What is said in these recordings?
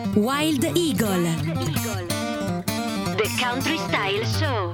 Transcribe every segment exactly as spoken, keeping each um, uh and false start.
Wild Eagle. The Country Style Show.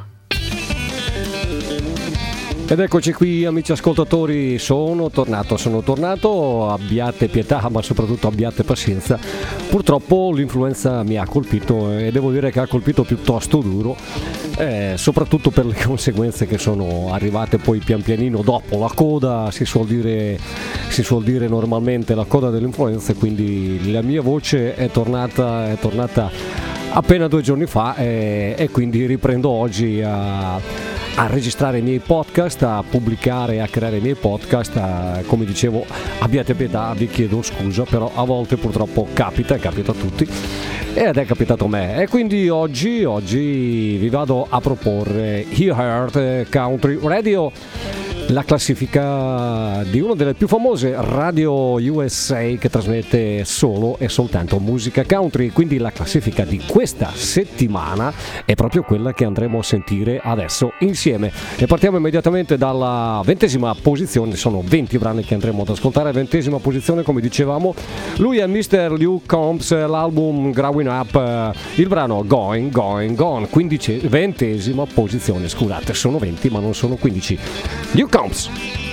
Ed eccoci qui, amici ascoltatori, sono tornato, sono tornato, abbiate pietà ma soprattutto abbiate pazienza. Purtroppo l'influenza mi ha colpito e devo dire che ha colpito piuttosto duro, eh, soprattutto per le conseguenze che sono arrivate poi pian pianino dopo la coda, si suol dire, si suol dire normalmente la coda dell'influenza, quindi la mia voce è tornata, è tornata appena due giorni fa e, e quindi riprendo oggi a... a registrare i miei podcast, a pubblicare, a creare i miei podcast, a, come dicevo, abbiate pietà, vi chiedo scusa, però a volte purtroppo capita, capita a tutti ed è capitato a me e quindi oggi, oggi vi vado a proporre You Heard Country Radio, la classifica di una delle più famose radio U S A che trasmette solo e soltanto musica country, quindi la classifica di questa settimana è proprio quella che andremo a sentire adesso insieme e partiamo immediatamente dalla ventesima posizione. Sono venti brani che andremo ad ascoltare. Ventesima posizione, come dicevamo, lui è mister Luke Combs, l'album Growing Up, il brano Going Going Gone. Quindici, ventesima posizione, scusate, sono venti ma non sono quindici. Luke Combs.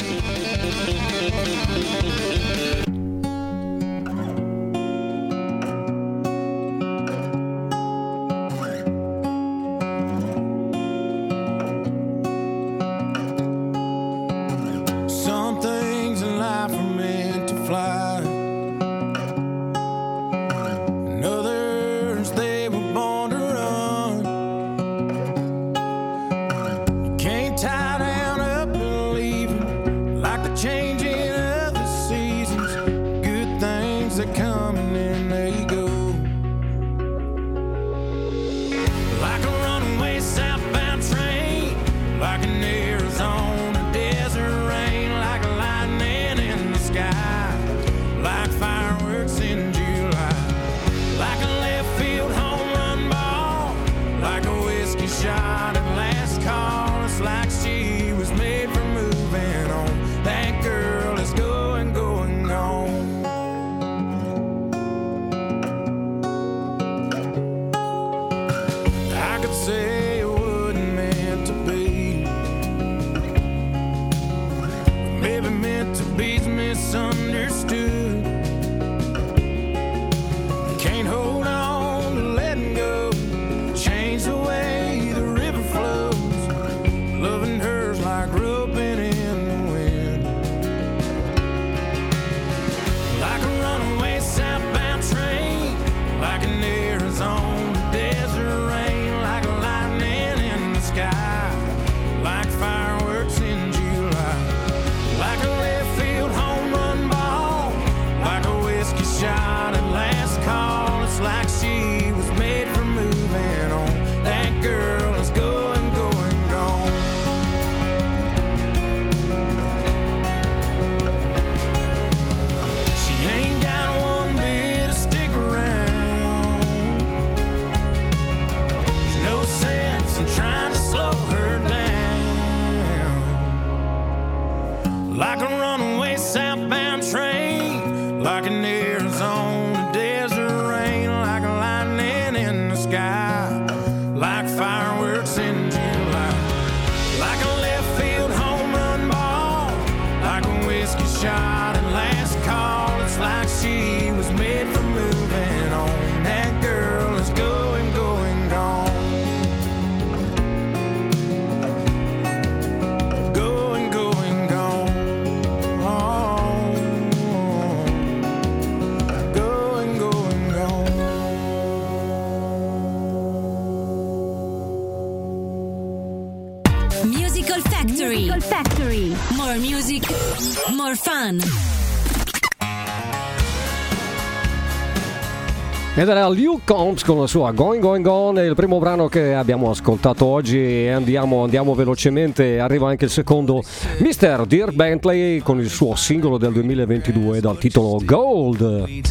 Ed era Luke Combs con la sua Going Going Gone, il primo brano che abbiamo ascoltato oggi e andiamo, andiamo velocemente, arriva anche il secondo, mister Dirk Bentley con il suo singolo del duemilaventidue dal titolo Gold.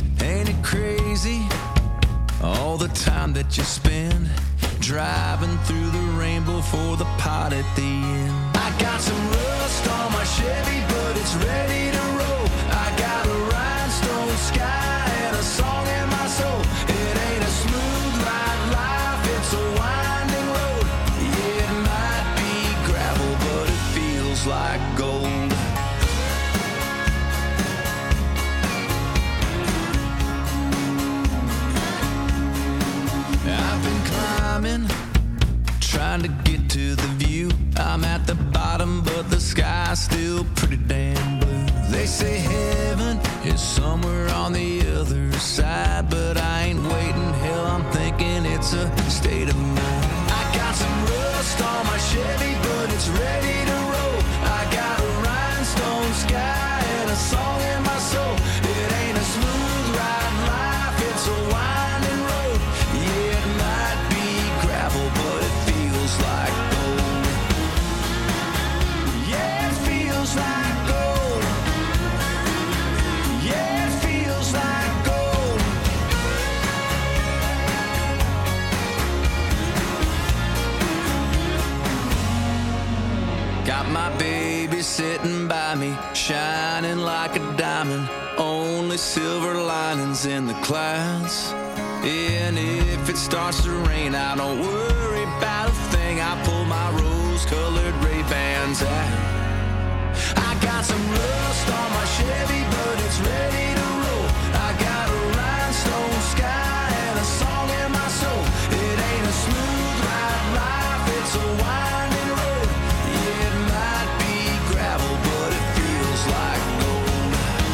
All the time that you spend driving through the rainbow for the pot at the end. I got some rust on my Chevy, but it's ready to roll. I got a rhinestone sky and a song in my soul. It ain't climbing, trying to get to the view. I'm at the bottom, but the sky's still pretty damn blue. They say heaven is somewhere on the other side, but I ain't waiting. Hell, I'm thinking it's a state of mind. I got some rust on my Chevy, but it's ready to roll. I got a rhinestone sky and a song in my soul. It ain't a smooth ride life, it's a winding road. Yeah, it might be gravel, but it feels like gold. Yeah, it feels like gold. Yeah, it feels like gold. Got my baby sitting by me, shining like a diamond. Only silver linings in the clouds. And if it starts to rain, I don't worry about a thing. I pull my rose-colored Ray-Bans out. I got some rust on my Chevy, but it's ready to roll. I got a rhinestone sky and a song in my soul. It ain't a smooth ride life, it's a winding road. Yeah, it might be gravel, but it feels like gold.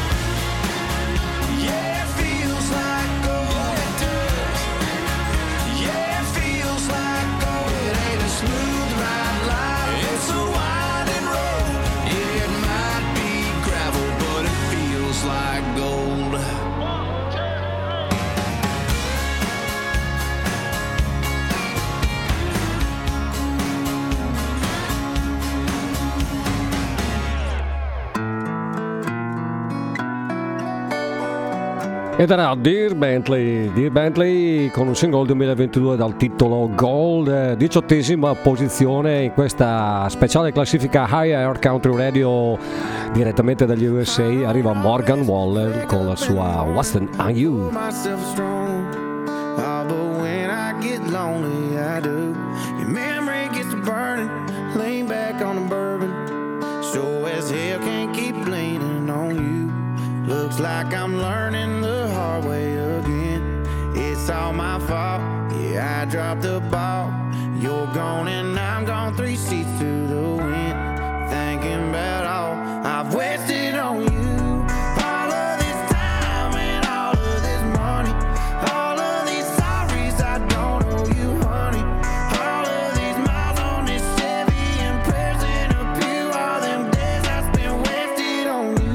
Yeah, it feels like gold. It does. Yeah, it feels like gold. It ain't a smooth ride life, it's a winding road. Yeah, it might be gravel, but it feels like gold. Ed era Dear Bentley, Dear Bentley con un singolo duemilaventidue dal titolo Gold, diciottesima posizione in questa speciale classifica High Air Country Radio direttamente dagli U S A. Arriva Morgan Wallen con la sua Wasn't on You. Looks like I'm learning the hard way again. It's all my fault, yeah, I dropped the ball. You're gone and I'm gone, three seats to the wind. Thinking about all I've wasted on you. All of this time and all of this money. All of these sorries I don't owe you, honey. All of these miles on this Chevy and prayers in a pew. All them days I spent wasted on you.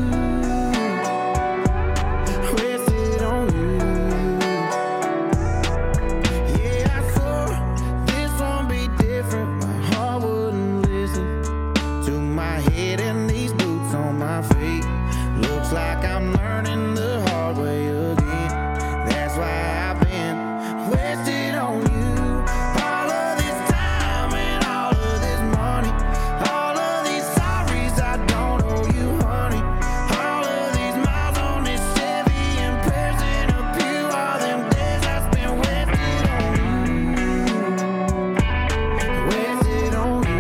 Like I'm learning the hard way again. That's why I've been wasted on you. All of this time and all of this money. All of these sorries I don't owe you, honey. All of these miles on this Chevy and prayers in a pew. All them days I spent wasted on you. Wasted on you.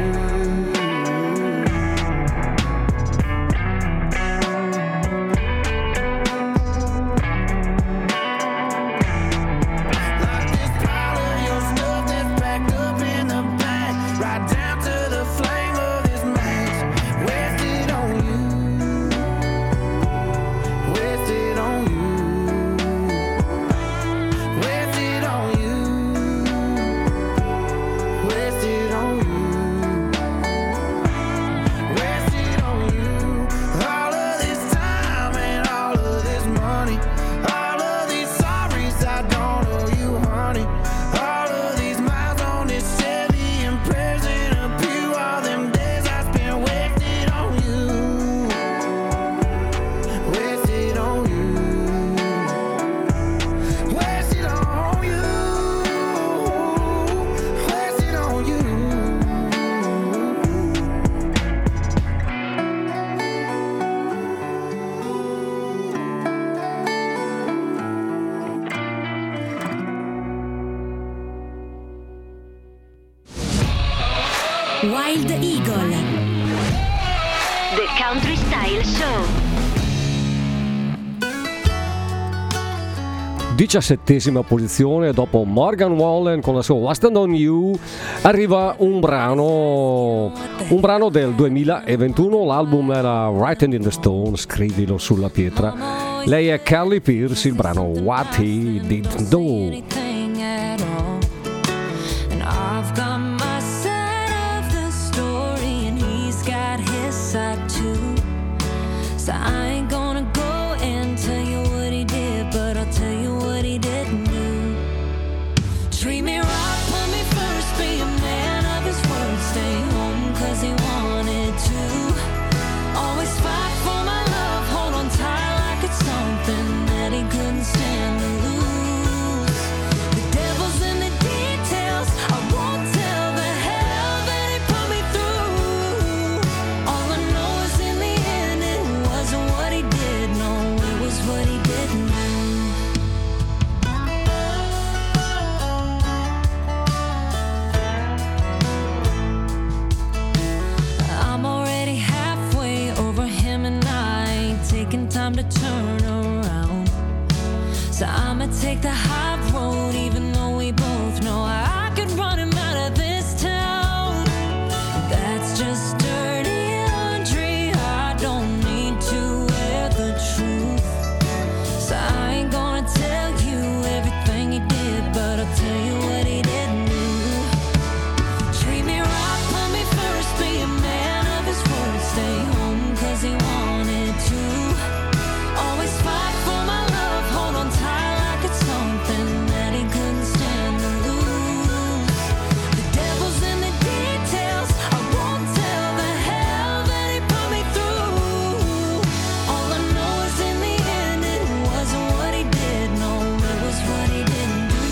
Wild Eagle, The Country Style Show. diciassettesima posizione. Dopo Morgan Wallen con la sua What's On You arriva un brano un brano del duemilaventuno. L'album era Written in the Stone, scrivilo sulla pietra. Lei è Carly Pearce, il brano What He Didn't Do. So I ain't gonna go and tell you what he did, but I'll tell you what he didn't do. Treat me right, put me first, be a man of his word, stay home cause he wanted to. Always fight for my love, hold on tight like it's something that he couldn't stand to lose. The devil's in the details, I won't tell the hell that he put me through. All I know is in the end it wasn't what he did, no, it was what he didn't do. I'm already halfway over him and I ain't taking time to turn around. So I'ma take the high road even though we both know I could run him out of this town. That's just dirty laundry, I don't need to wear the truth. So I ain't gonna tell you everything he did, but I'll tell you what he didn't do. Treat me right, put me first, be a man of his word, stay home cause he wanted to. Always fight for my love, hold on tight like it's something that he couldn't stand to lose. The devil's in the details, I won't tell the hell that he put me through. All I know is in the end it wasn't what he did, no, it was what he didn't do.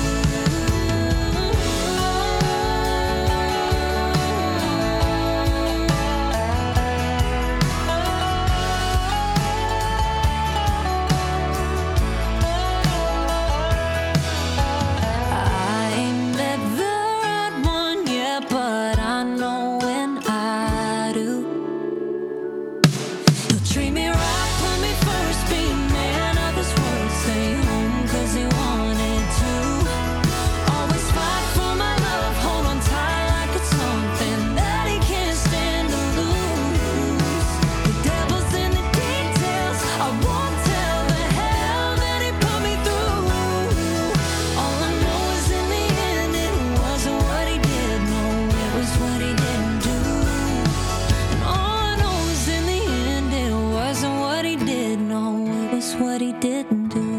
I ain't met the right one yet, but I know when I do. He'll treat me right, put me first, be a man of his word, stay home cause he wanted to. Always fight for my love, hold on tight like it's something that he can't stand to lose. The devil's in the details, I won't tell the hell that he put me through. All I know is in the end it wasn't what he did, no, it was what he didn't do. And all I know is in the end it wasn't what he did, no, it was what he didn't do.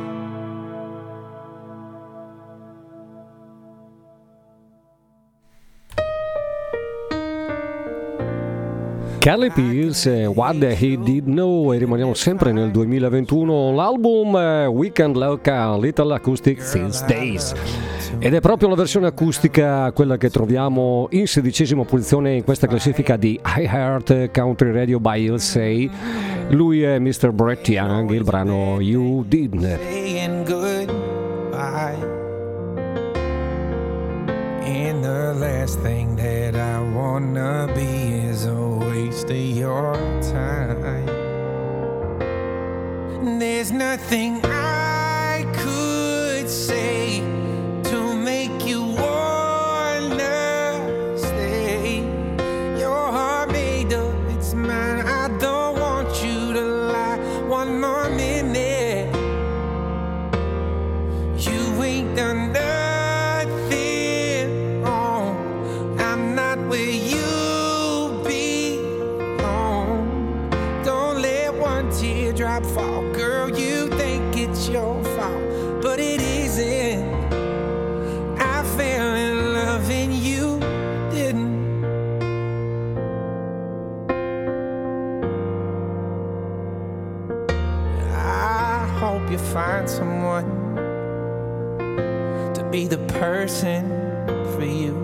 Carly Pearce, What He Did Know, e rimaniamo sempre nel duemilaventuno. L'album eh, Weekend Like a Little Acoustic These Days, ed è proprio la versione acustica quella che troviamo in sedicesima posizione in questa classifica di iHeart Country Radio by U S A. Lui è mister Brett Young, il brano You Didn't. Saying goodbye, and the last thing that I wanna be is a waste of your time. There's nothing I could say to make you wanna stay. Your heart made up, it's mine. I don't want you to lie one more minute. You ain't done nothing wrong. I'm not where you belong. Don't let one teardrop fall. Girl, you think it's your fault, but it isn't. I fell in love and you didn't. I hope you find someone to be the person for you.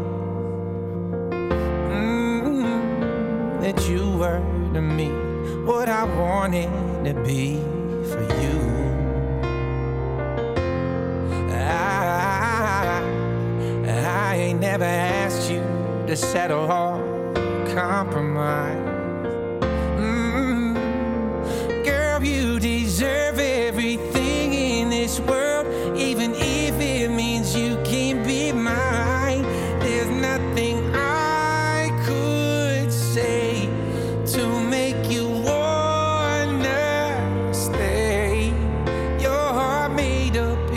Mm, that you were to me what I wanted to be for you. I, I ain't never asked you to settle or compromise. Mm, girl, you deserve everything in this world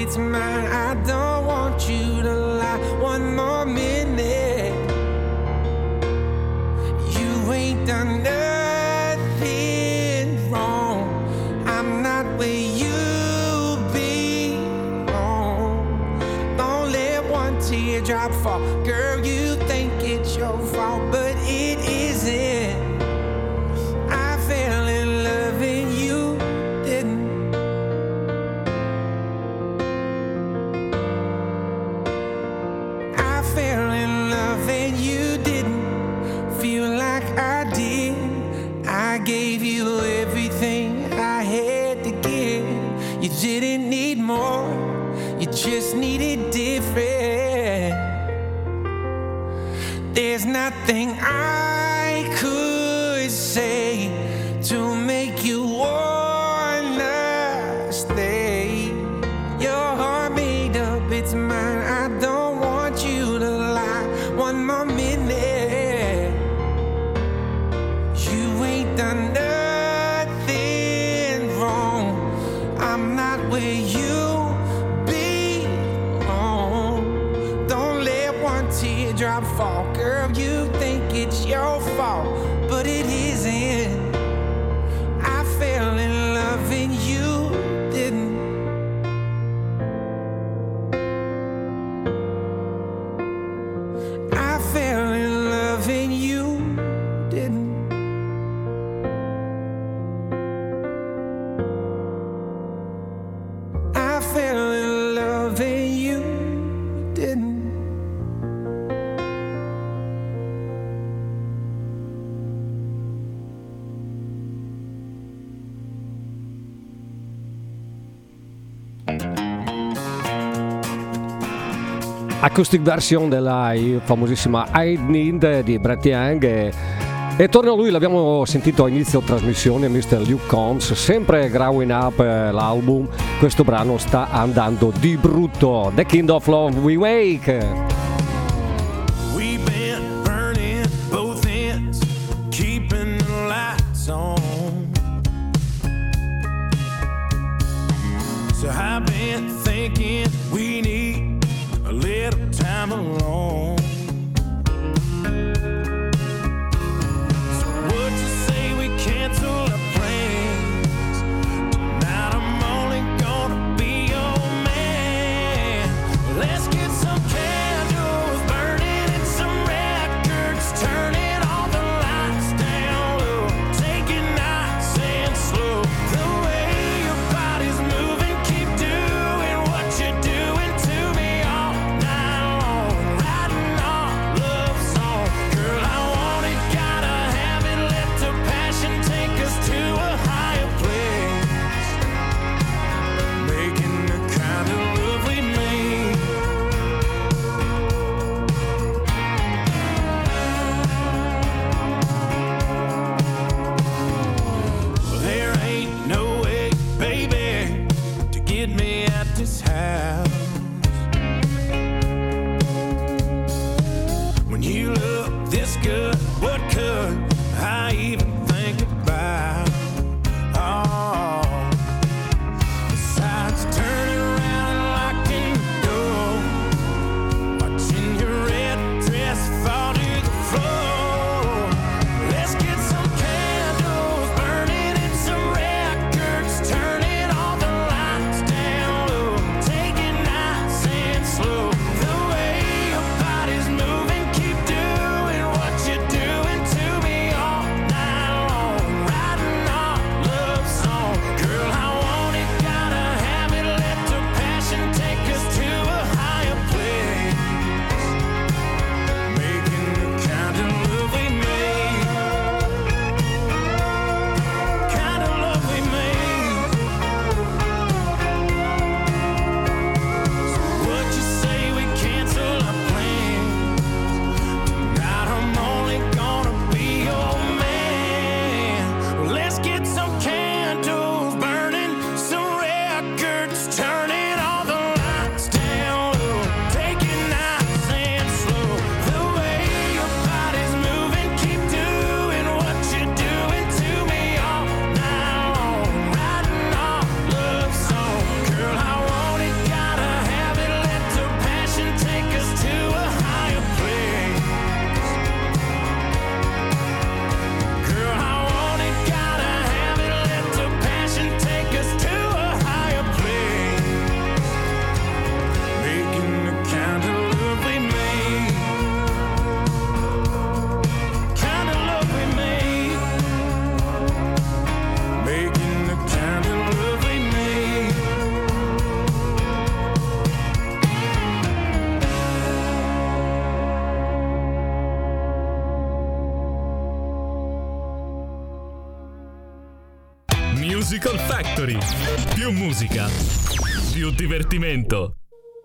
it's mine. I don't want you to lie one more minute. You ain't done nothing wrong. I'm not where you belong. Don't let one teardrop fall. Girl, you think it's your fault, but it isn't. I fell in love and you didn't. I fell in love and you didn't feel like I did. I gave you everything I had to give. You didn't need more, you just needed different. There's nothing I could say to make you wanna stay. Your heart made up, it's mine. I don't want you to lie one more minute. You ain't done nothing wrong. I'm not where you belong. Don't let one teardrop fall. Girl, you think it's your fault, but it isn't. I fell in love and you didn't. I fell in love and you didn't. I fell in love and you didn't. Acoustic version della famosissima I Need di Brett Young e, e torna lui, l'abbiamo sentito a inizio trasmissione, mister Luke Combs, sempre Growing Up, eh, l'album. Questo brano sta andando di brutto. The Kind of Love We Make. We've been burning both ends, keeping the lights on. So I've been thinking we need a little time alone. So what you say we cancel our plans? Tonight I'm only gonna be your man. Let's get some candles. Musical Factory. Più musica, più divertimento.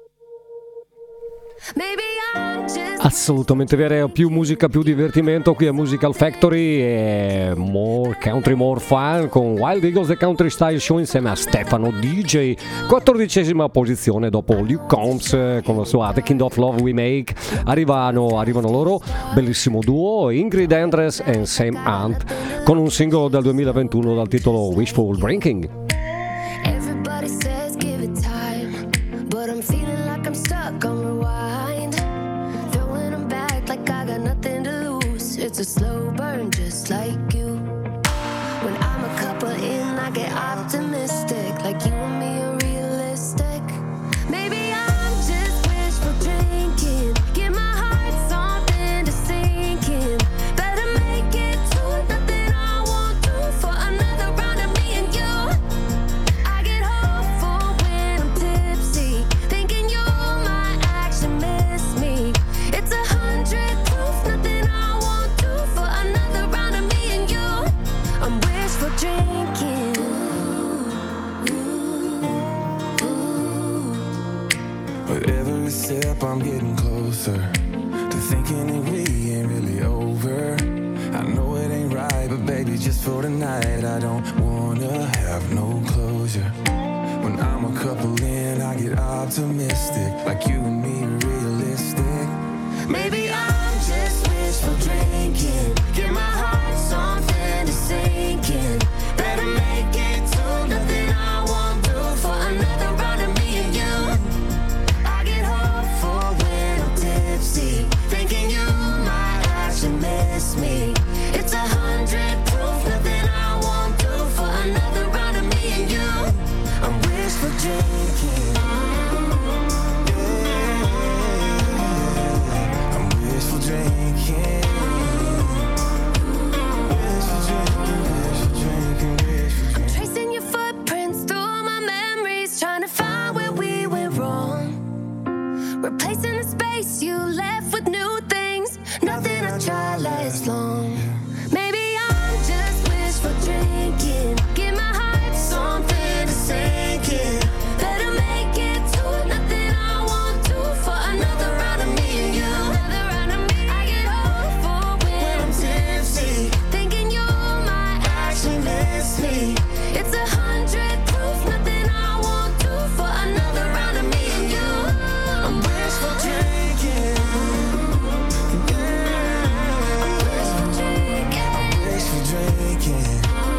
Assolutamente vero, più musica, più divertimento qui a Musical Factory e more country, more fun con Wild Eagles The Country Style Show insieme a Stefano D J, quattordicesima posizione dopo Luke Combs con la sua The Kind of Love We Make. Arrivano, arrivano loro, bellissimo duo, Ingrid Andress e Sam Hunt con un singolo del duemilaventuno dal titolo Wishful Drinking. Everybody says give it time, but I'm feeling like I'm stuck on rewind. Throwing them back like I got nothing to lose. It's a slow burn just like you. When I'm a couple in, I get optimistic, like you and me are realistic. Maybe I'm just wishful drinking. Give my heart something to sink in. Better make it to nothing I won't do for another round of me and you. I get hopeful when I'm tipsy, thinking you might actually miss me. It's a hundred proof, nothing I won't do for another round of me and you. I'm wishful drinking. With every sip I'm getting closer to thinking that we ain't really over. I know it ain't right, but baby, just for tonight I don't wanna have no closure. When I'm a couple in, I get optimistic, like you and me are realistic. Maybe I'm just wishful drinking. Give my heart something to sink in. Better make it to nothing I won't do for another round of me and you. I get hopeful when I'm tipsy, thinking you might actually miss me. It's a hundred proof, nothing I won't do for another round of me and you. I'm wishful drinking. Yeah. I'm wishful drinking. Wishful drinking, wishful drinking, wishful drinking. Tracing your footprints through my memories, trying to find where we went wrong. Replacing the space you left with new things. Nothing I try lasts long. Maybe I'm just wishful drinking. Give my heart something to sink in. Better make it to nothing I won't do for another round of me and you. Another round of me. I get hopeful when I'm tipsy, thinking you might actually miss me. It's a hundred proof, nothing I won't do for another round of me and you. I'm wishful drinking. Yeah. I'm wishful drinking. I'm wishful drinking.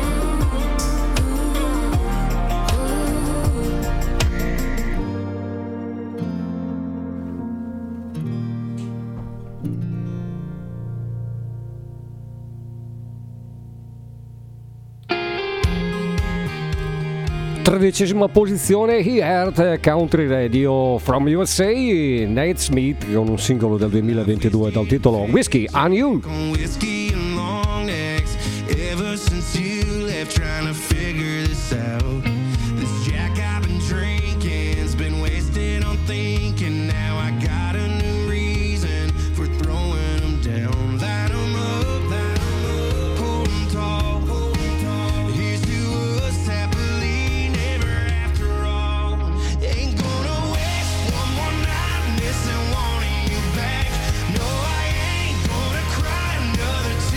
Tredicesima posizione, He Heard Country Radio from U S A, Nate Smith con un singolo del duemilaventidue dal titolo Whiskey on You. On whiskey and long necks ever since you left, trying to figure this out. This Jack I've been drinking's been wasted on thinking. Now I got a new reason for throwing them down. Light 'em up, light 'em up, hold 'em tall, hold 'em tall. Here's to us happily never after all. Ain't gonna waste one more night missing wanting you back. No, I ain't gonna cry another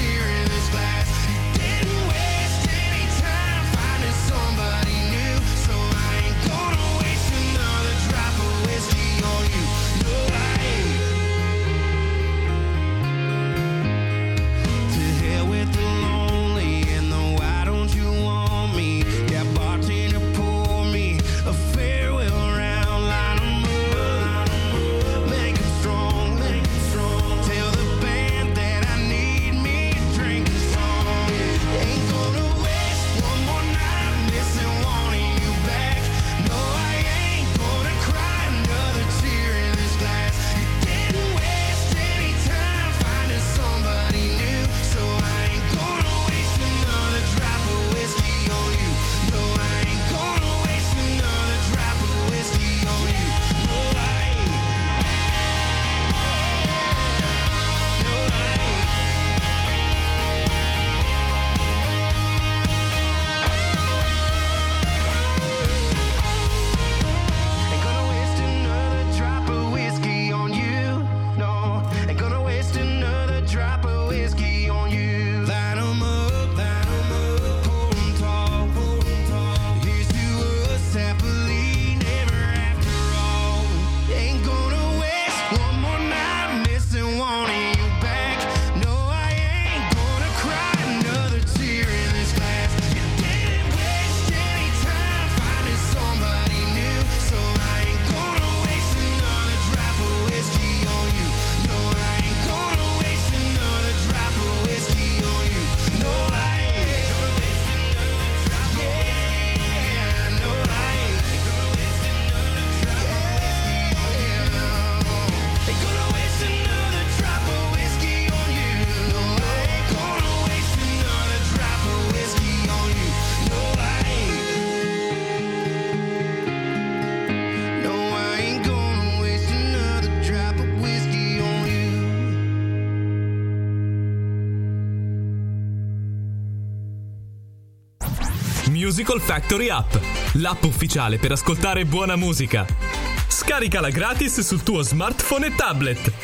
Musical Factory App, l'app ufficiale per ascoltare buona musica. Scaricala gratis sul tuo smartphone e tablet.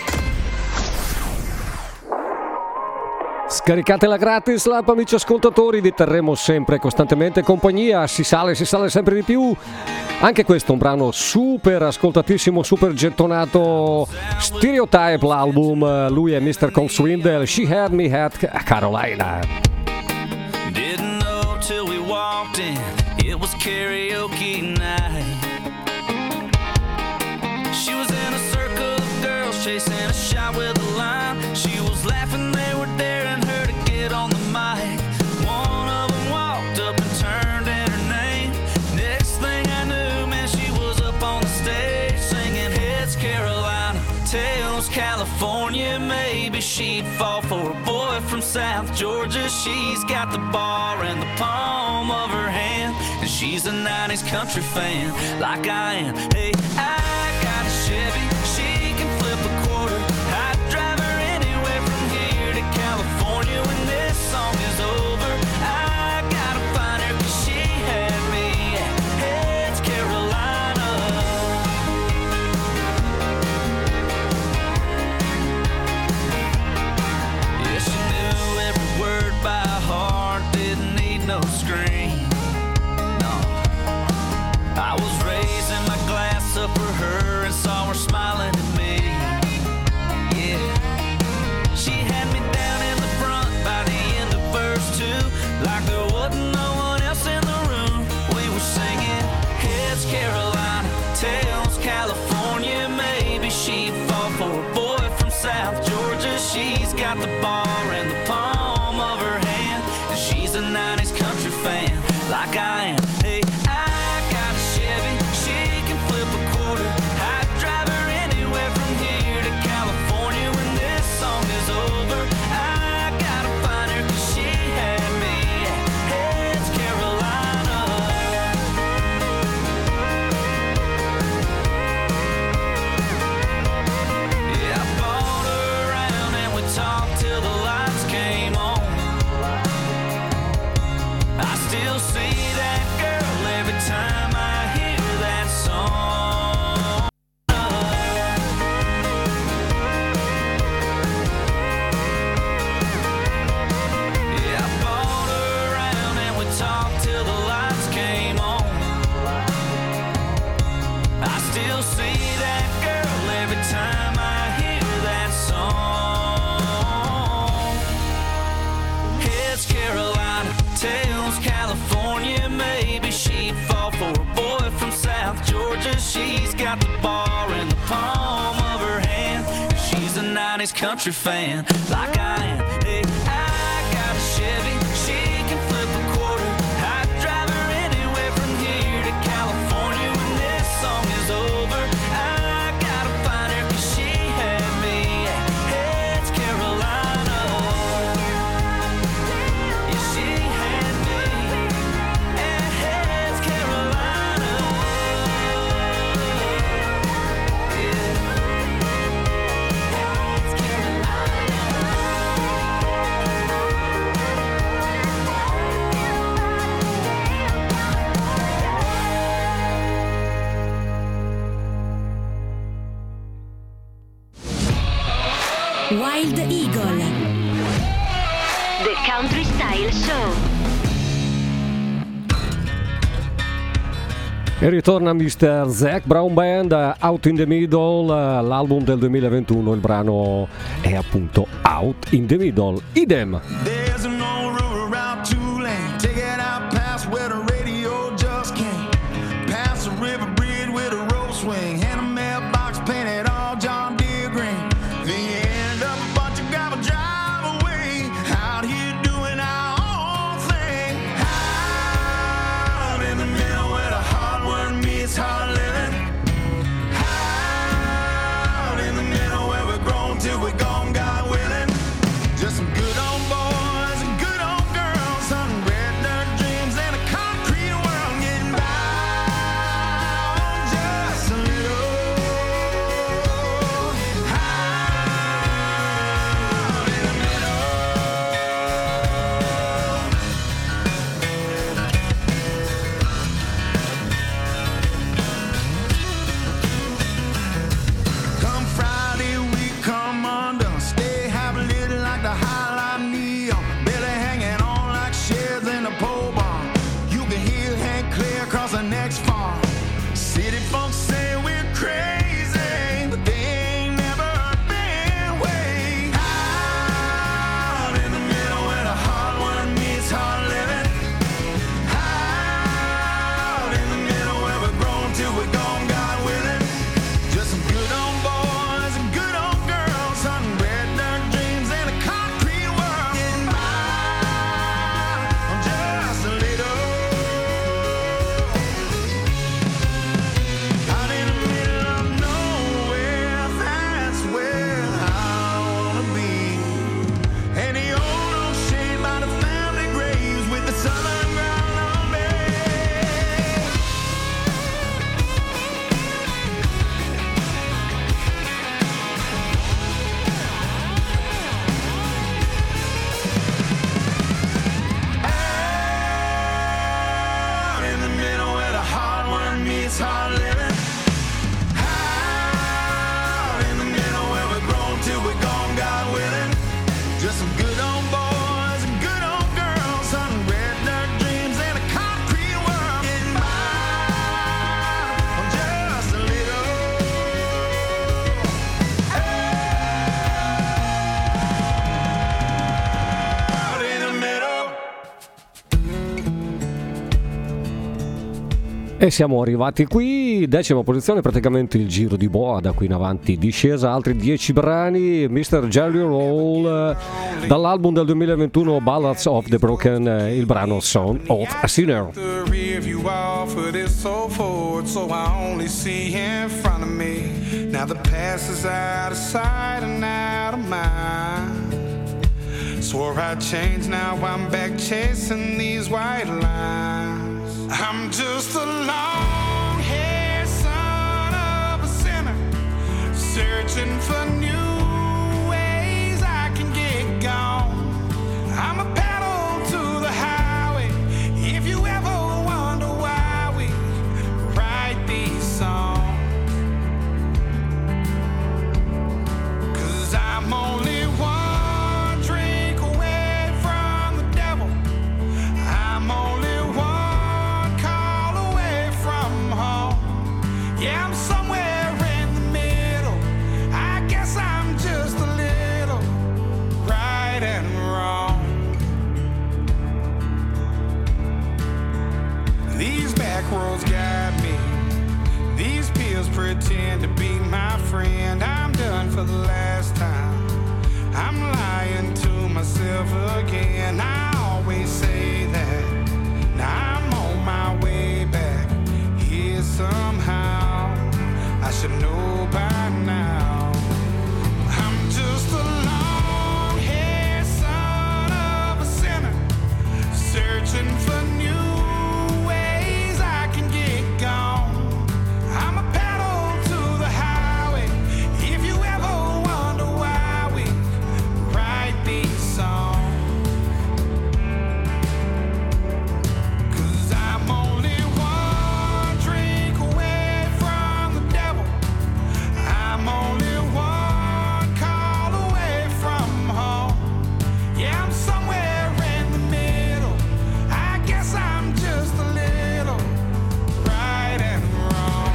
Scaricatela gratis l'app, amici ascoltatori, vi terremo sempre costantemente compagnia, si sale, si sale sempre di più. Anche questo è un brano super ascoltatissimo, super gettonato, Stereotype l'album, lui è mister Cole Swindle, She Had Me at Carolina. Didn't know till we walked in, it was karaoke night. She was in a circle of girls chasing a shot with a line. She was laughing, they were daring her to get on the mic. One of them walked up and turned in her name. Next thing I knew, man, she was up on the stage singing Heads Carolina, Tails California. Maybe she'd fall for a boy from South Georgia. She's got the bar in the palm of her hand, and she's a nineties country fan like I am. Hey, I got a Chevy, she can flip a quarter. I'd drive her anywhere from here to California. When this song is over, I gotta find her, 'cause she had me at Heads Carolina. Yeah, she knew every word by heart, didn't need no screen. No, I was raising my glass up for her and saw her smiling at me. Yeah, she had me down in the front by the end of verse two, like there wasn't no one else in the room. We were singing Heads Carolina, Tails California. Maybe she'd fall for a boy from South Georgia. She's got the bar in the palm of her hand, and she's a nineties country fan like I am. Hey, I got a Chevy, she can flip a quarter. I'd drive her anywhere from here to California. When this song is over, I gotta find her, 'cause she had me at Heads Carolina. Yeah, I bought her around and we talked till the lights came on. I still see that girl every time I hear that song. Yeah, I bought her around and we talked till the lights came on. I still see that girl every time I hear that song. Heads Carolina, Tails California. Maybe she'd fall for a boy from South Georgia. She's got the bar in the palm of her hand, she's a nineties country fan like I am. Hey, I got a Chevy, she can flip a quarter. I'd drive her anywhere from here to California. When this song is over, I gotta find her, 'cause she had me at Heads Carolina. Yeah, she had me at Heads Carolina. Yeah. Heads Carolina. Wild Eagle. The Country Style Show. E ritorna mister Zac Brown Band, Out in the Middle, l'album del duemilaventuno, il brano è appunto Out in the Middle. Idem. There's an old river out Tulane, take it out past where the radio just came. Past the river bridge with a rope swing, and a mailbox painted all John Deere green. Then you end up a bunch of gravel drive away, out here doing our own thing. Out in the middle where the hard work meets hard living. Out in the middle where we're grown till we're gone, God willing. Just some good old boys E siamo arrivati qui, decima posizione, praticamente il giro di boa, da qui in avanti discesa, altri dieci brani, mister Jelly Roll, eh, dall'album del duemilaventuno Ballads of the Broken, eh, il brano Son of a Sinner. Swore I'd change, now I'm back chasing these white lines. I'm just a long-haired son of a sinner, searching for new ways I can get gone. I'm a pedal to the highway, if you ever wonder why we write these songs. 'Cause I'm only one drink away from the devil, I'm only one call away from home. Yeah, I'm somewhere in the middle, I guess I'm just a little right and wrong. These back roads guide me, these pills pretend to be my friend. I'm done for the last time, I'm lying to myself again. I always say that, now I'm on my way back here somehow. I should know by now. I'm just a long-haired son of a sinner, searching for new ways I can get gone. I'm a pedal to the highway, if you ever wonder why we write these songs. 'Cause I'm only one drink away from the devil, I'm only one call away from home. Yeah, I'm somewhere in the middle, I guess I'm just a little right and wrong.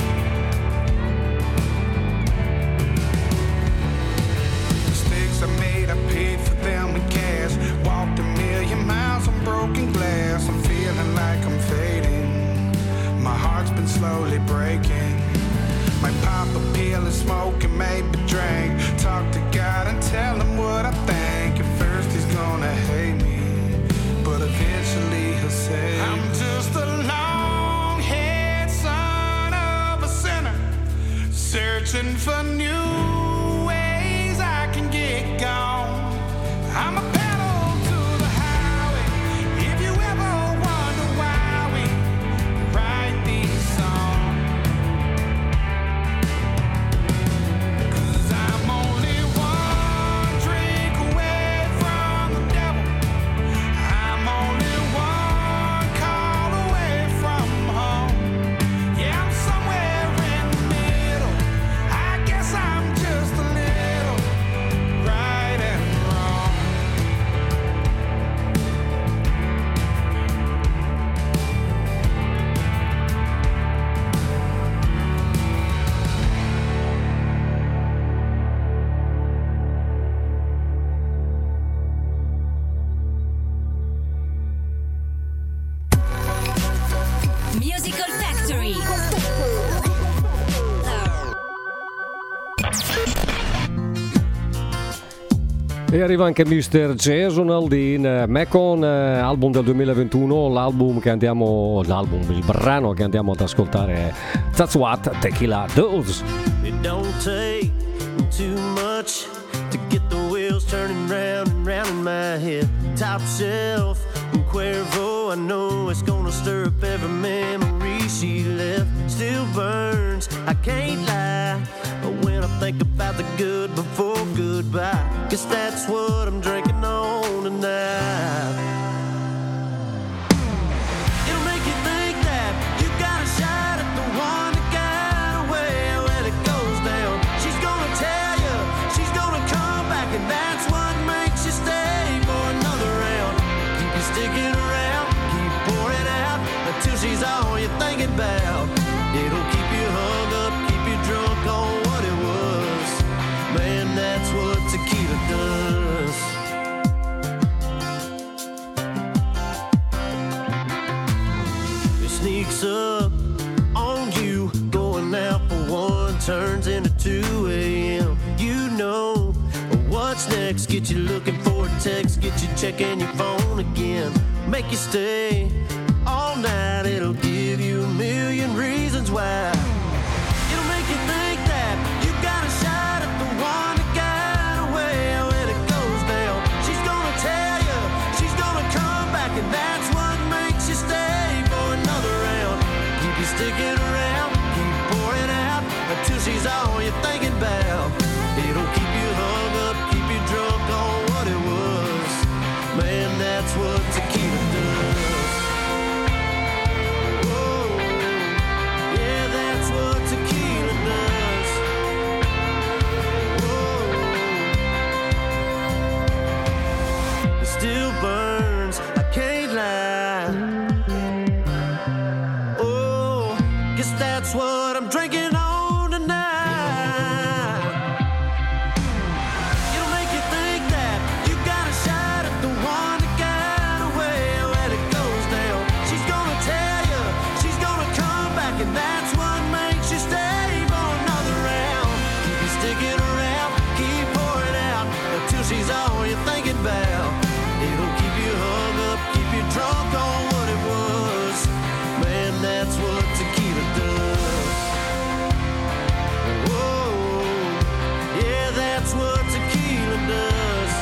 Mistakes I made, I paid for them in cash. Walked a million miles on broken glass. I'm feeling like I'm fading, my heart's been slowly breaking. Might pop a pill and smoke and maybe drink. Talk to God and tell him what I think. At first he's gonna hate me, but eventually he'll say, I'm just a long-haired son of a sinner, searching for new ways I can get gone. I'm a pedal to the highway, if you ever wonder why we write these songs. 'Cause I'm only one drink away from the devil, I'm only one call away from home. Yeah, I'm somewhere in the middle, I guess I'm just a little right and wrong. Musical Factory. E arriva anche mister Jason Aldean, Macon, eh, album del duemilaventuno, l'album che andiamo, l'album, il brano che andiamo ad ascoltare è That's What Tequila Does. It don't take too much to get the wheels turning round and round in my head. Top shelf and Cuervo, I know it's gonna stir up every memory she left. Still burns, I can't lie, but when I think about the good before goodbye, guess that's what I'm drinking on tonight. It'll make you think that you got a shot at the one that got away when it goes down. She's gonna tell you, she's gonna come back, and that's what makes you stay for another round. Keep you sticking around, keep pouring out until she's all you're thinking about. It'll keep you hung up, keep you drunk on what it was. Man, that's what tequila does. turns into two a.m. You know what's next, get you looking for a text, get you checking your phone again, make you stay all night, it'll give you a million reasons why. It'll make you think that you got a shot at the one that got away. When it goes down, she's gonna tell you, she's gonna come back, and that's what makes you stay for another round. Keep you sticking around, keep pouring out until she's all you're thinking about. It'll keep you hung up, keep you drunk on what it was. Man, that's what tequila does. Still burns, I can't lie. Oh, guess that's what I'm drinking on tonight. It'll make you think that you got a shot at the one that got away. When it goes down, she's gonna tell you, she's gonna come back, and that's what makes you stay for another round. Keep you sticking around, keep pouring out until she's all you're thinking about. It'll keep you hung up, keep you drunk on what it was. Man, that's what tequila does. Whoa, yeah, that's what tequila does.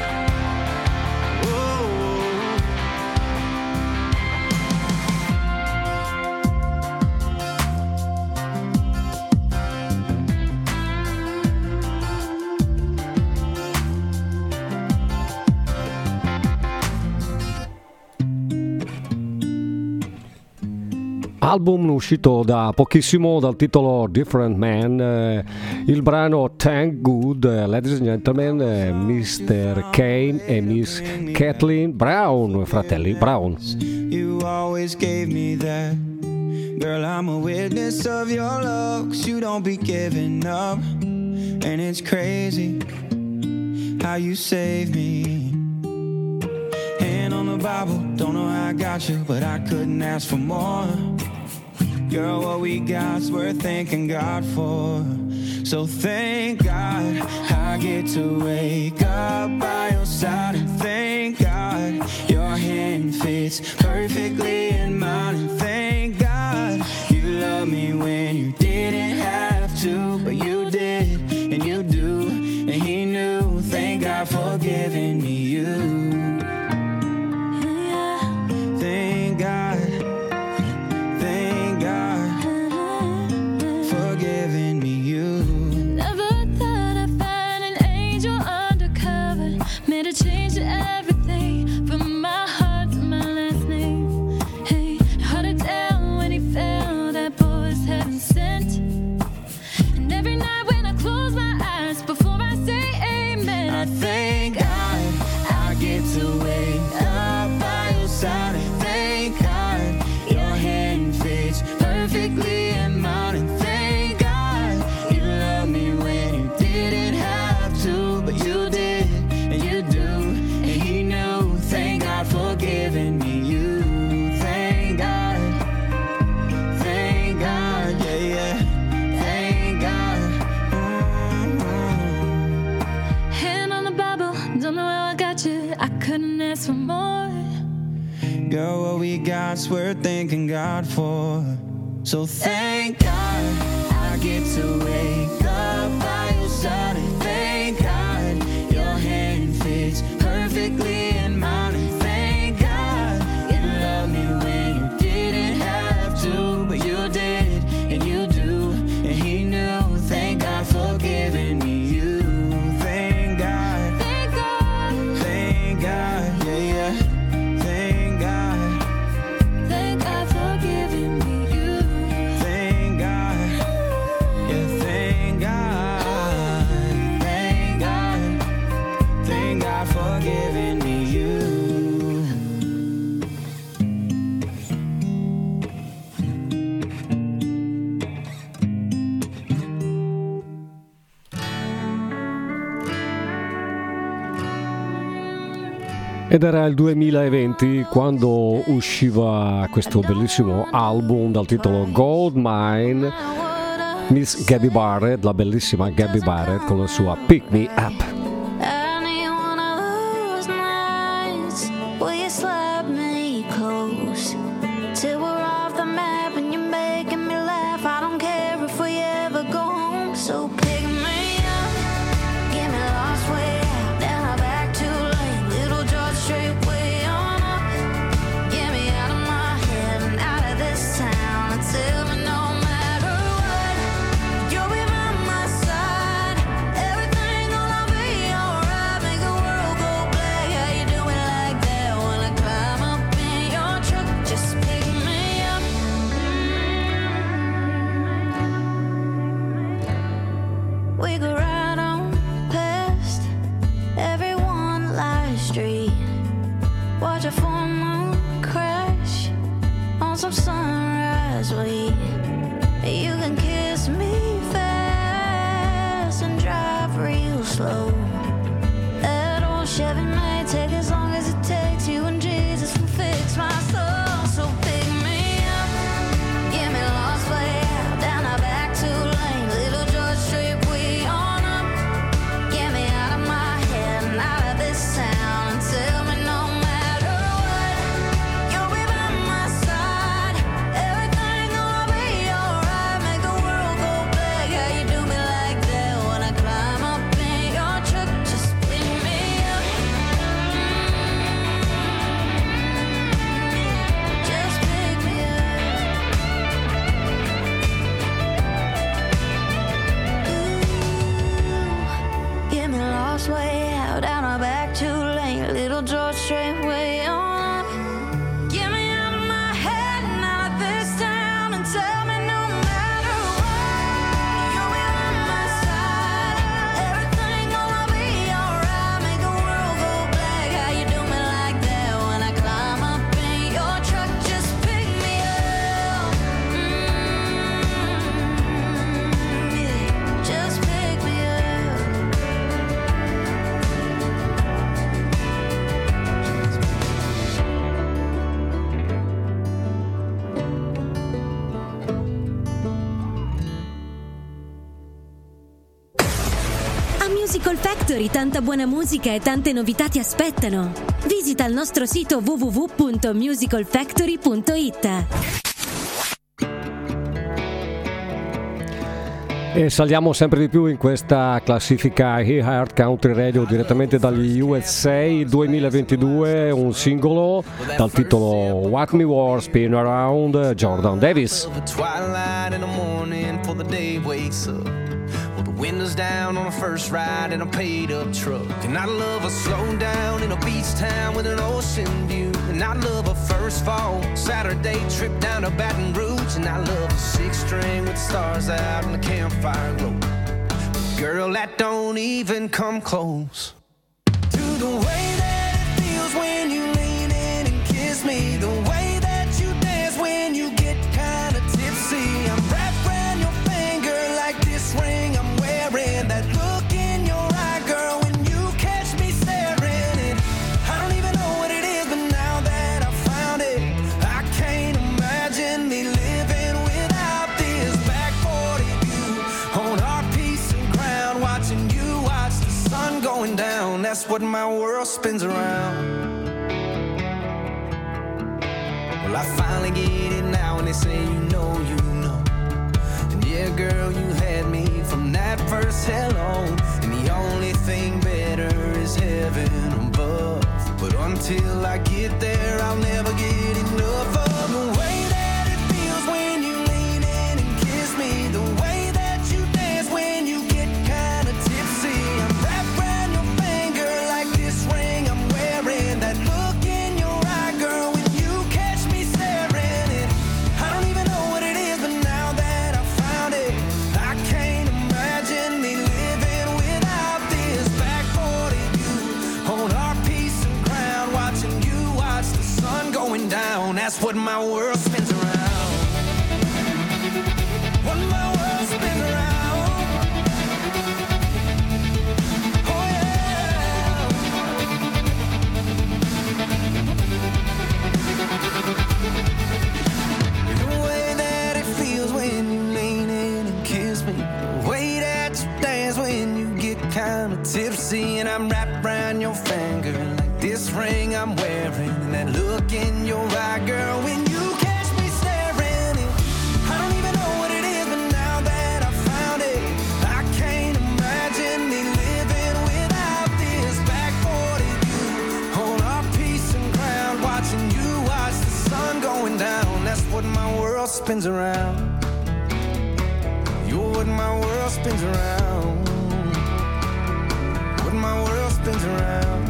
Album uscito da pochissimo dal titolo Different Man, eh, il brano Thank Good, eh, ladies and gentlemen, eh, mister Kane e Miss Kathleen Brown, fratelli Brown. You always gave me that. Girl, I'm a witness of your love, 'cause you don't be giving up. And it's crazy how you save me. Hand on the Bible, don't know how I got you, but I couldn't ask for more. Girl, what we got's worth thanking God for. So thank God I get to wake up by your side, and thank God your hand fits perfectly in mine, and thank God you love me when you didn't have to, but you did, and you do, and he knew. Thank God for giving me you. Thank God. Change everything from my heart to my last name. Hey, hard to tell when he fell, that boy was heaven sent. And every night when I close my eyes before I say amen, I thank God I get to wake up by your side, and thank God your hand fits perfectly in mine, and thank God you love me when you didn't have to, but you did, and you do, and he knew. Thank God for giving me you. Thank God, thank God, yeah, yeah, thank God. Mm-hmm. Hand on the Bible, don't know how I got you, I couldn't ask for more. Girl, what we got's worth thanking God for. So thank God I get to wake up by your side, and thank God your hand fits perfectly in mine, and thank God you love me when you didn't have to, but you did, and you do, and he knew. Thank God for giving me you. Thank God, Thank God, thank God, yeah, yeah, thank God, thank God for giving me you. thank God, yeah, thank God, thank God, thank God for giving me you. Ed era il duemilaventi quando usciva questo bellissimo album dal titolo Gold Mine, Miss Gabby Barrett, la bellissima Gabby Barrett con la sua Pick Me Up. Musical Factory, tanta buona musica e tante novità ti aspettano. Visita il nostro sito w w w punto musical factory punto i t. E saliamo sempre di più in questa classifica iHeart Country Radio direttamente dagli U S A duemilaventidue, un singolo dal titolo What Me War Spin Around, Jordan Davis. Windows down on a first ride in a paid up truck. And I love a slow down in a beach town with an ocean view. And I love a first fall Saturday trip down to Baton Rouge. And I love a six string with stars out and the campfire glow. But girl, that don't even come close to the way that it feels when you lean in and kiss me. The way that you dance when you get kind of tipsy. I'm wrapped around your finger like this ring I'm wearing. That look in your eye, girl, when you catch me staring. And I don't even know what it is, but now that I found it, I can't imagine me living without this. Back forty view on our piece of ground, watching you watch the sun going down. That's what my world spins around. Well, I finally get it now, and they say you know, you know. And yeah, girl, you had me from that first hello. And the only thing better is heaven above. But until I get there, I'll never get enough of the way that it feels when you lean in and kiss me. The way that you dance when you get kind of tipsy. I'm wrapped around your finger like this ring I'm wearing. That look in your eye, girl, when you catch me staring. And I don't even know what it is, but now that I found it, I can't imagine me living without this. Back forty view on our piece of ground, watching you watch the sun going down. That's what my world spins around. What my world spins around. Oh yeah. The way that it feels when you lean in and kiss me. kind of tipsy, and I'm wrapped around your finger like this ring I'm wearing, and that look in your eye, girl, when you catch me staring. And I don't even know what it is, but now that I found it, I can't imagine me living without this. Back forty, you on our piece of ground, watching you watch the sun going down. That's what my world spins around. You're what my world spins around. What my world spins around.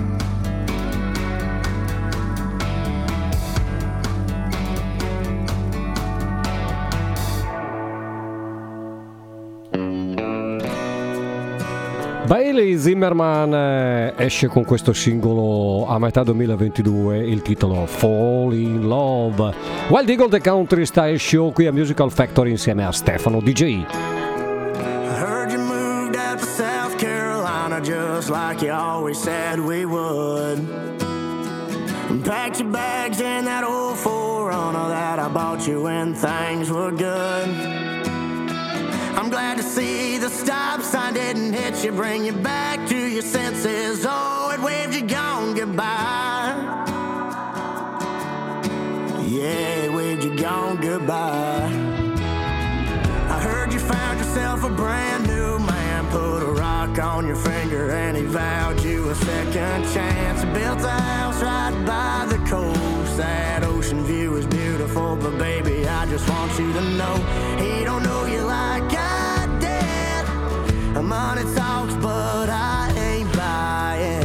Bailey Zimmerman eh, esce con questo singolo a metà duemilaventidue, il titolo Fall in Love. Wild Eagle The Country Style Show qui a Musical Factory insieme a Stefano D J. I heard you moved out to South Carolina just like you always said we would. And packed your bags in that old four runner that I bought you when things were good. I'm glad to see the stop sign didn't hit you, bring you back to your senses. Oh, it waved you gone goodbye. Yeah, it waved you gone goodbye. I heard you found yourself a brand new man, put a rock on your finger and he vowed you a second chance. Built a house right by the coast. That ocean view is beautiful, but baby, I just want you to know he don't know you like I did. Money talks, but I ain't buying.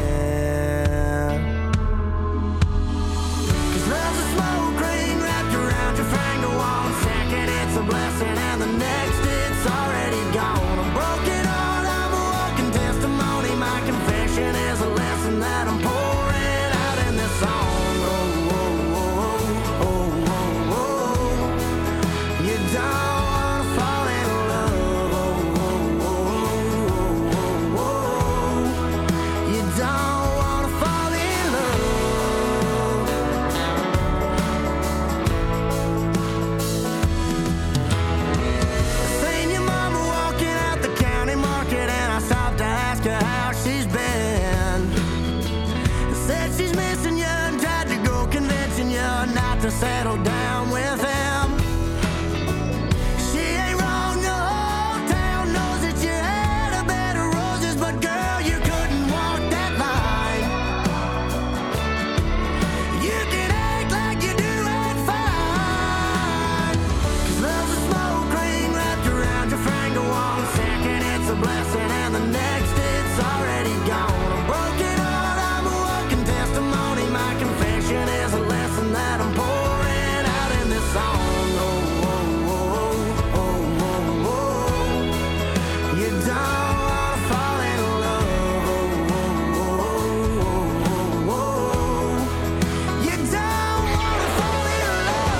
Cause love's a smoke ring wrapped around your finger. One second it's a blessing and the next it's already gone. I'm broken heart, I'm a walking testimony. My confession is a lesson that I'm pouring out in this song. Oh, oh, oh, oh, oh, oh. You don't to settle down with him. She ain't wrong, the whole town knows that you had a bed of roses, but girl, you couldn't walk that line. You can act like you do it fine. Cause love's a smoke ring wrapped around your finger. One second it's a blessing and the next it's already gone. I'm broken heart, I'm a walking testimony. My confession is a lesson that I'm pouring song. Oh, oh, oh, oh, oh, oh. You don't wanna fall in love. Oh, oh, oh, oh, oh. You don't wanna fall in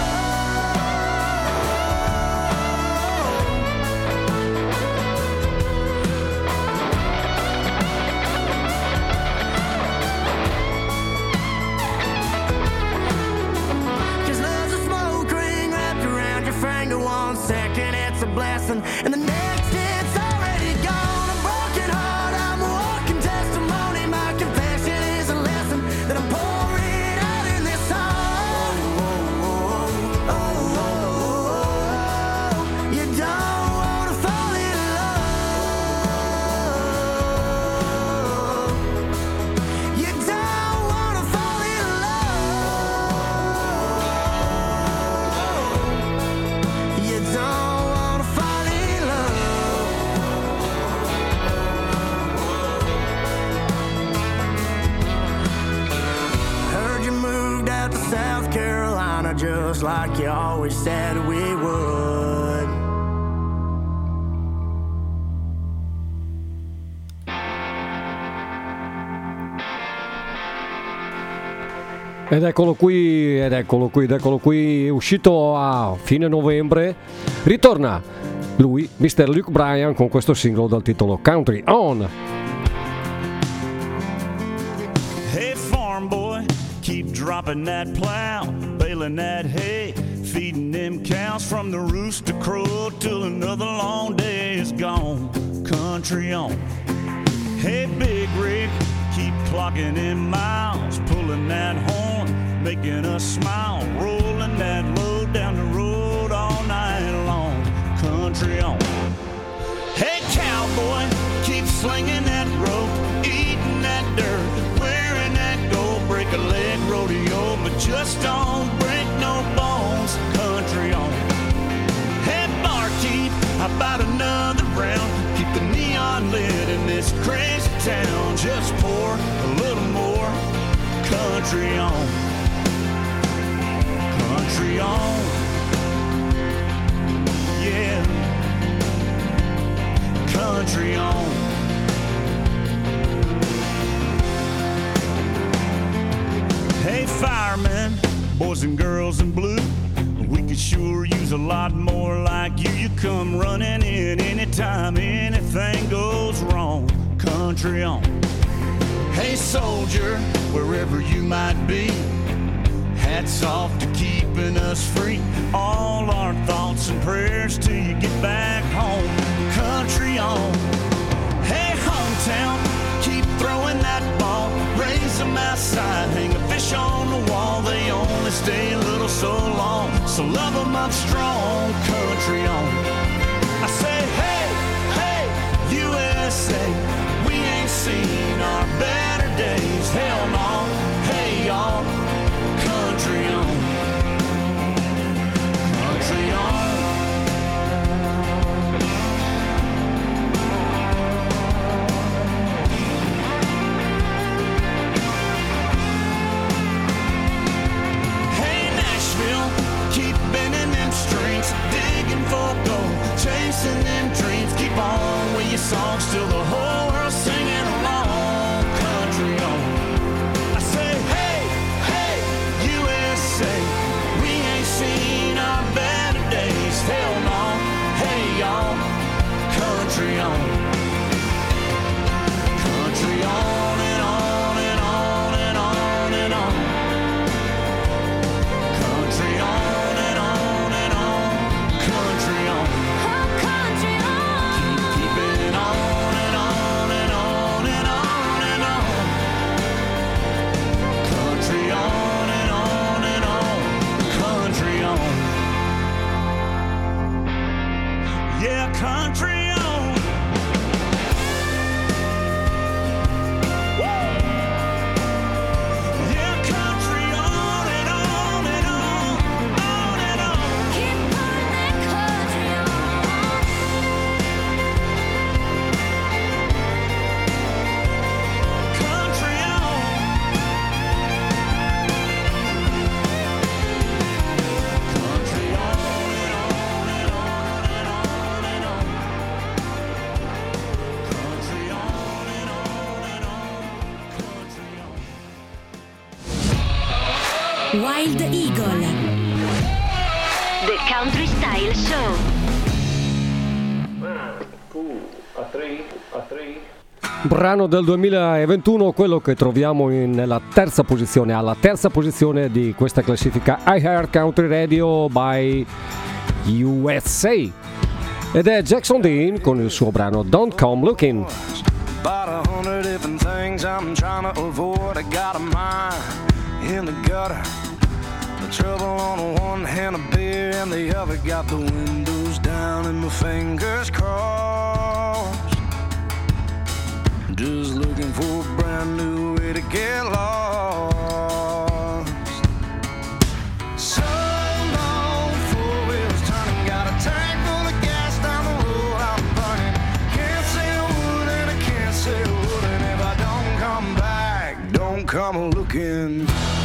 one second it's a blessing and the next it's already gone. A broken heart, I'm a walking testimony. My confession is a lesson that I'm pouring out in this song. Oh, oh, oh, oh, oh. You don't wanna fall in love. You don't wanna fall in love. You don't wanna fall in love. Heard you moved out to South Carolina just like you always said we would. Ed eccolo qui, ed eccolo qui, ed eccolo qui, uscito a fine novembre, ritorna lui, mister Luke Bryan, con questo singolo dal titolo Country On. Hey farm boy, keep dropping that plow, baling that hay, feeding them cows from the rooster crow till another long day is gone. Country on. Hey, Big Rig, keep clocking in miles, pulling that horn, making us smile, rolling that load down the road all night long. Country on. Hey, cowboy, keep slinging that rope, eating that dirt, wearing that gold, break a leg rodeo, but just don't break no bones. Country on. Hey, barkeep, how about another round? Keep the neon lit in this crazy town. Just pour a little more. Country on. Country on. Yeah. Country on. Hey, firemen, boys and girls in blue, we could sure use a lot more like you. You come running in anytime anything goes wrong. Country on. Hey, soldier, wherever you might be, hats off to keeping us free. All our thoughts and prayers till you get back home. Country on. Hey, hometown, keep throwing that ball, raise them outside, hang a fish on the wall. They only stay a little so long, so love them up strong. Country on. I say, hey, hey, U S A, we ain't seen our better days. Hell no, hey y'all. Country on. Country on. Keep bending them strings, digging for gold, chasing them dreams. Keep on with your songs till the whole world's singing along. Country on. I say, hey, hey, U S A, we ain't seen our better days. Hell no, hey y'all. Country on. Country on and on and on and on and on. Country on. Country on. Woo! Yeah, country on and on and on, on and on. Keep putting that country on. Country on. Country on and on and on and on and on. Wild Eagle, The Country Style Show. Brano del duemilaventuno, quello che troviamo in- nella terza posizione, alla terza posizione di questa classifica iHeart Country Radio by U S A. Ed è Jackson Dean con il suo brano Don't Come Looking. About a hundred different things I'm trying to avoid. I got a mind in the gutter, the trouble on the one hand, a beer and the other. Got the windows down and my fingers crossed, just looking for a brand new way to get lost. So long, four wheels turning, got a tank full of gas down the road I'm burning. Can't say a word and I can't say a word, and if I don't come back, don't come looking.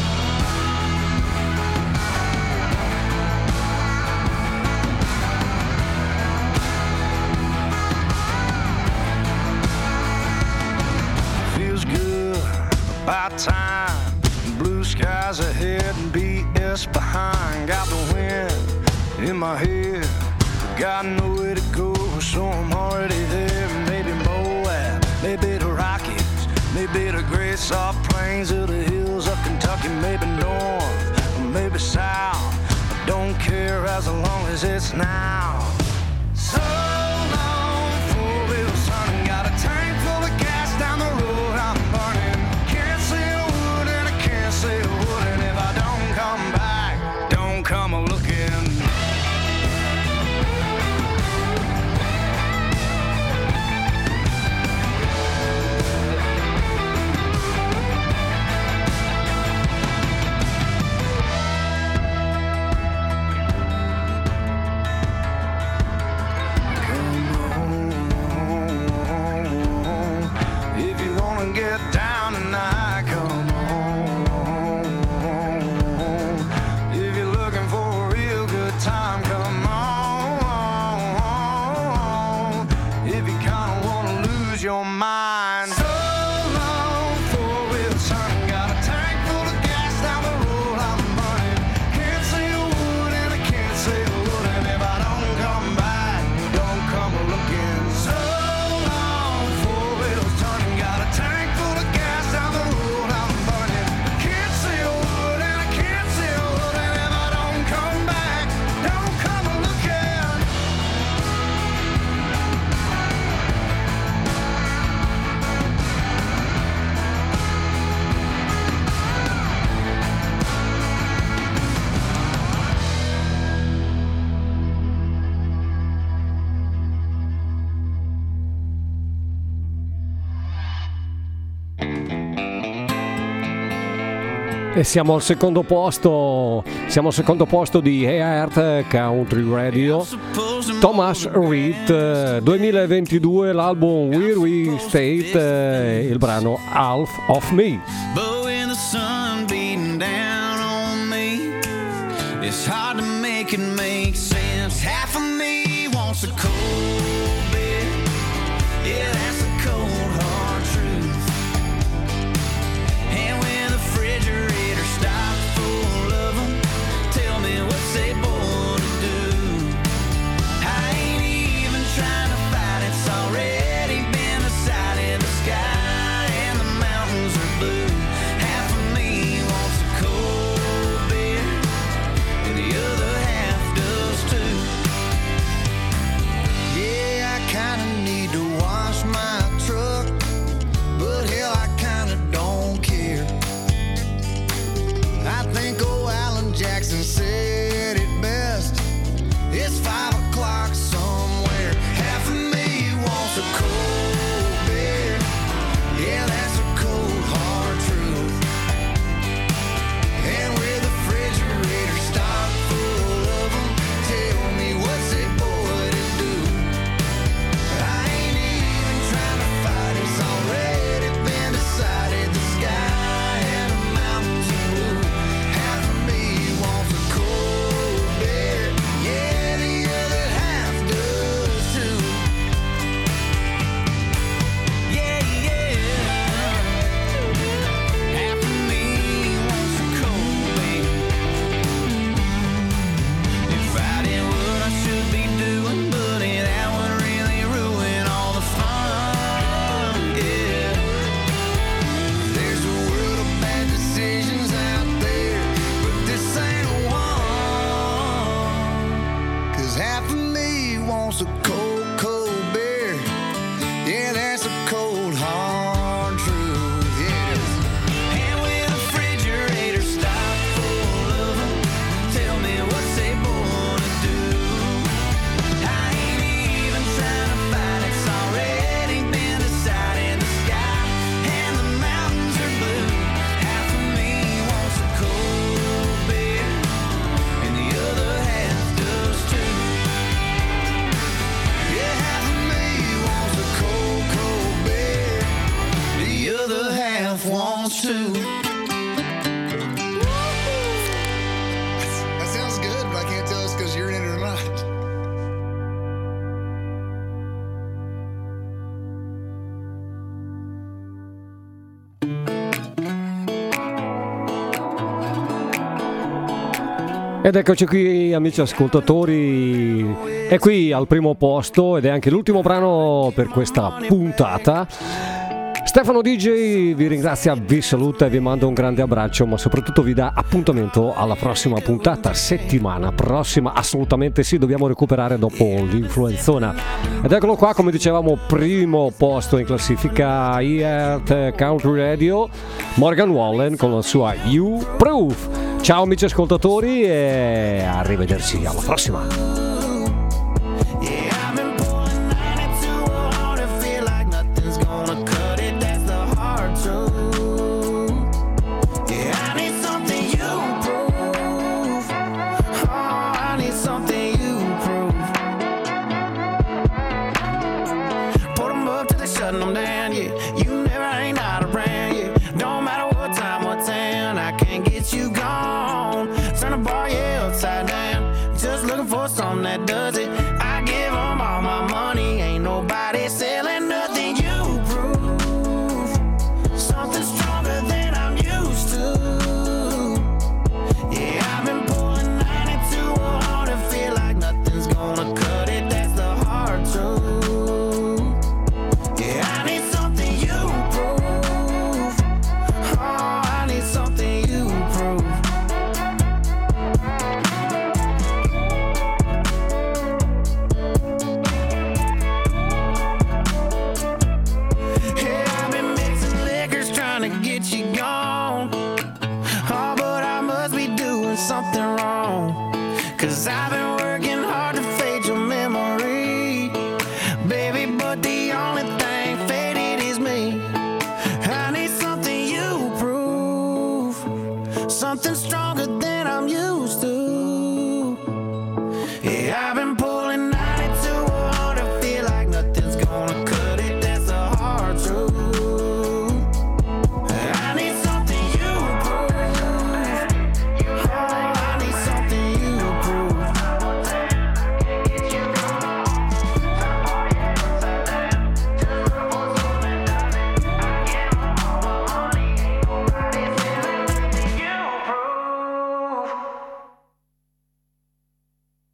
About time, blue skies ahead and B S behind. Got the wind in my head, got nowhere to go, so I'm already there. Maybe Moab, maybe the Rockies, maybe the great soft plains of the hills of Kentucky. Maybe north, or maybe south, I don't care as long as it's now. So long, four wheels turning, got a tank full of gas down the lose your mind. So long, four-wheel turning, got a tank full of gas down the road I'm burning. Can't see a wood and I can't see a wood, and if I don't come back, don't come looking. So long, four-wheel turning, got a tank full of gas down the road I'm burning. Can't see a wood and I can't see a wood, and if I don't come back, don't come looking. E siamo al secondo posto, siamo al secondo posto di Heart Country Radio. Thomas Reed, duemilaventidue, l'album Where We State, il brano Half of Me. But when the sun beating down on me, it's hard to make it make sense. Half of me wants a cold beer. Yeah, that's a cold hard truth. And when the refrigerator stops full of them, tell me what's they born to do. I ain't even trying to fight, it's already been decided. The sky and the mountains are blue. Half of me wants a cold beer, and the other half does too. Yeah, I kinda need to wash my truck, but hell, I kinda don't care. I think old Alan Jackson said it best. It's five o'clock somewhere. Half of me wants a cold beer. Yeah, that's a cold hard truth. And with the refrigerator stocked full of them, tell me what's a boy to do. I ain't even trying to fight, it's already been decided. The sky and the mountains are blue. Half of me wants a cold beer. Yeah, the other half does too. Yeah, yeah. Half of me wants a cold beer. If I did what I should be doing, buddy, that would really ruin all the fun. Yeah. There's a world of bad decisions out there, but this ain't one. 'Cause half of me wants a cold, cold beer. Yeah, that's a cold, hard truth. Yeah, it is. And when the refrigerator stopped full of them, tell me what's they born to do. I ain't even trying to fight, it's already been decided. The sky and the mountains are blue. Half of me wants a cold beer, and the other half does too. Yeah, half of me wants a cold, cold beer. The other half wants to. That sounds good, but I can't tell it's 'cause you're in it or not. Ed eccoci qui, amici ascoltatori, è qui al primo posto ed è anche l'ultimo brano per questa puntata. Stefano D J vi ringrazia, vi saluta e vi manda un grande abbraccio, ma soprattutto vi dà appuntamento alla prossima puntata, settimana prossima, assolutamente sì, dobbiamo recuperare dopo l'influenzona. Ed eccolo qua, come dicevamo, primo posto in classifica Heart Country Radio, Morgan Wallen con la sua You Proof. Ciao amici ascoltatori e arrivederci alla prossima. Them down, yeah.